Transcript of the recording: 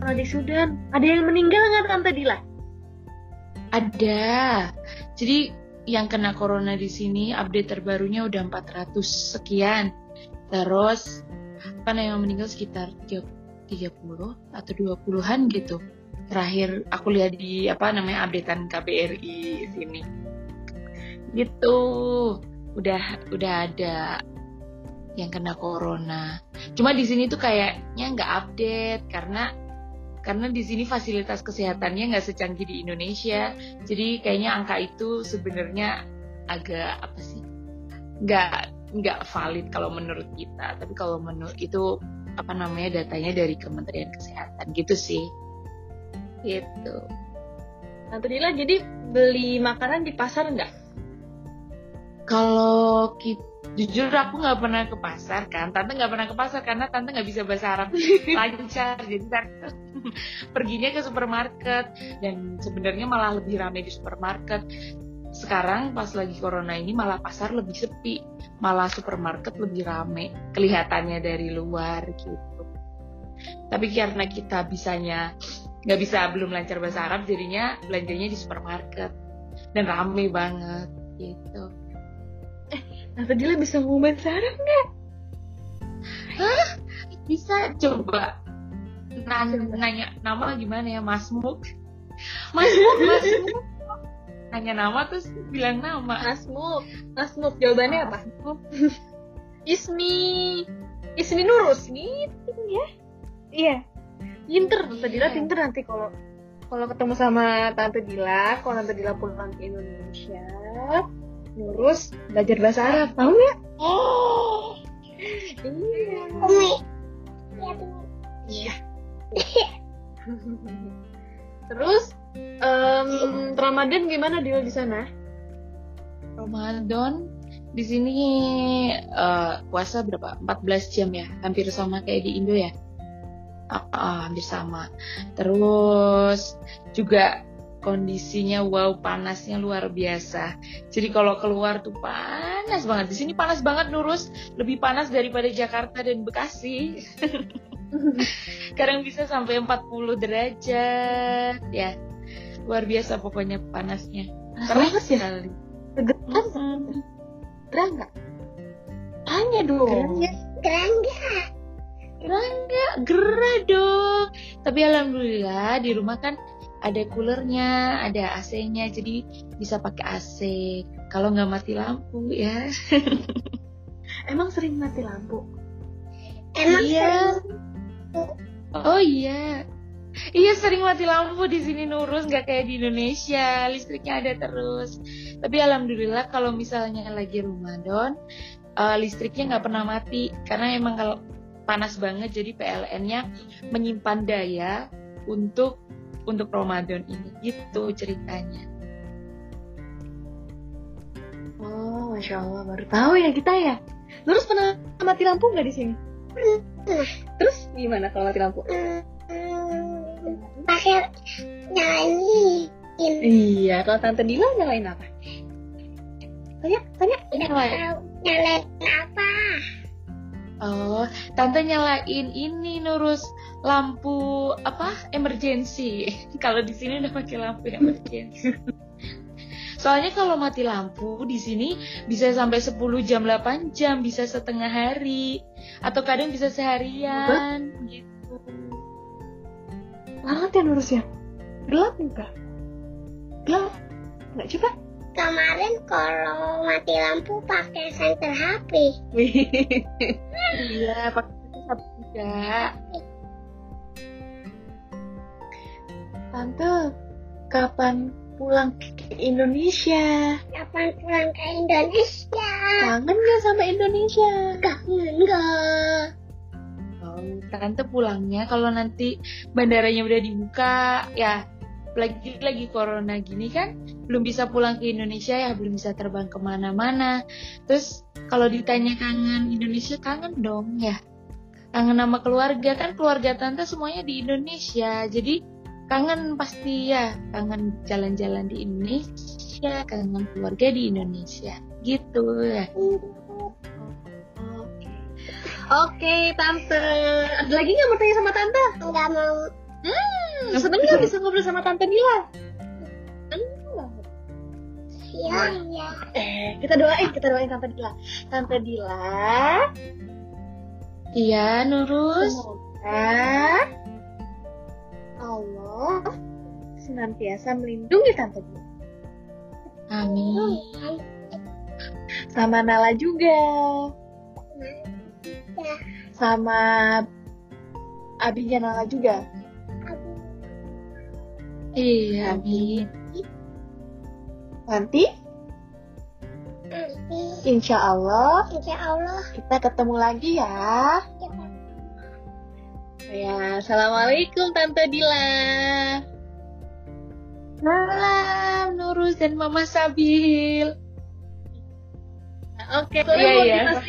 di Sudan. Ada yang meninggal nggak Tante Dila? Ada. Jadi yang kena corona di sini update terbarunya udah 400 sekian. Terus yang meninggal sekitar 30 atau 20-an gitu. Terakhir aku lihat di updatean KBRI sini. Gitu. Udah ada yang kena corona. Cuma di sini tuh kayaknya nggak update karena di sini fasilitas kesehatannya nggak secanggih di Indonesia. Jadi kayaknya angka itu sebenarnya agak nggak valid kalau menurut kita. Tapi kalau menurut itu datanya dari Kementerian Kesehatan gitu sih. Gitu. Tante Dila jadi beli makanan di pasar nggak? Kalau jujur aku nggak pernah ke pasar kan. Tante nggak pernah ke pasar karena Tante nggak bisa bahasa Arab lancar. Jadi Tante perginya ke supermarket dan sebenarnya malah lebih ramai di supermarket. Sekarang pas lagi corona ini malah pasar lebih sepi, malah supermarket lebih ramai kelihatannya dari luar gitu. Tapi karena kita belum lancar bahasa Arab, jadinya belanjanya di supermarket dan ramai banget gitu. Tante Dila bisa ngomong bahasa Arab nggak? Hah? Bisa, coba nanya nama gimana ya, Masmuk. Nanya nama terus bilang nama. Masmuk jawabannya apa? Ismi Nurus gitu ya. Iya. Pinter, Tante Dila pinter nanti kalau ketemu sama Tante Dila, kalau Tante Dila pulang ke Indonesia, Nurus belajar bahasa Arab, tahu nggak? Oh, iya. Terus Ramadan gimana Dila di sana? Ramadan di sini puasa berapa? 14 jam ya, hampir sama kayak di Indo ya. Hampir sama. Terus juga kondisinya panasnya luar biasa. Jadi kalau keluar tuh panas banget. Di sini panas banget Nurus, lebih panas daripada Jakarta dan Bekasi. Kadang bisa sampai 40 derajat ya. Luar biasa pokoknya panasnya. Panas ya? Getar. Gerah nggak? Tanya dong. Gerah dong. Tapi alhamdulillah di rumah kan ada coolernya, ada AC-nya, jadi bisa pakai AC. Kalau nggak mati lampu ya. Emang sering mati lampu? Iya. Oh iya. Iya sering mati lampu di sini Nurus, nggak kayak di Indonesia, listriknya ada terus. Tapi alhamdulillah kalau misalnya lagi Ramadan, listriknya nggak pernah mati karena emang kalau panas banget jadi PLN-nya menyimpan daya untuk Ramadan ini, gitu ceritanya. Oh, Masya Allah, baru tahu ya kita ya. Terus pernah mati lampu nggak di sini? Terus gimana kalau mati lampu? Pakai nyalain. Iya, kalau Tante Dila nyalain apa? Tanya. Nyalain apa? Oh, Tante nyalain ini Nurus, lampu emergency. Kalau di sini udah pakai lampu emergency. Soalnya kalau mati lampu di sini bisa sampai 10 jam, 8 jam, bisa setengah hari atau kadang bisa seharian gitu. Banget ya Nurus ya? Gelap enggak? Gelap? Enggak coba? Kemarin kalau mati lampu pakai senter HP. Iya, pakai senter HP juga. Tante, kapan pulang ke Indonesia? Kapan pulang ke Indonesia? Kangen gak sama Indonesia? Kangen gak? Oh, Tante pulangnya kalau nanti bandaranya udah dibuka ya. Lagi corona gini kan belum bisa pulang ke Indonesia ya, belum bisa terbang kemana-mana. Terus kalau ditanya kangen Indonesia, kangen dong ya. Kangen sama keluarga, kan keluarga Tante semuanya di Indonesia. Jadi kangen pasti ya, kangen jalan-jalan di Indonesia, kangen keluarga di Indonesia gitu ya. Oke, Tante. Ada lagi nggak mau tanya sama Tante? Nggak mau. Seneng nggak bisa ngobrol sama Tante Dila? Seneng banget. Iya. Kita doain Tante Dila. Tante Dila, Iya, Nurus. semoga Allah senantiasa melindungi Tante Dila. Amin. Sama Nala juga. Ya. Sama abinya Nala juga. Iya, amin. Nanti insya Allah Insya Allah. kita ketemu lagi ya. Ya, assalamualaikum Tante Dila. Salam Nurus dan Mama Sabil. Oke, Iya, iya. kita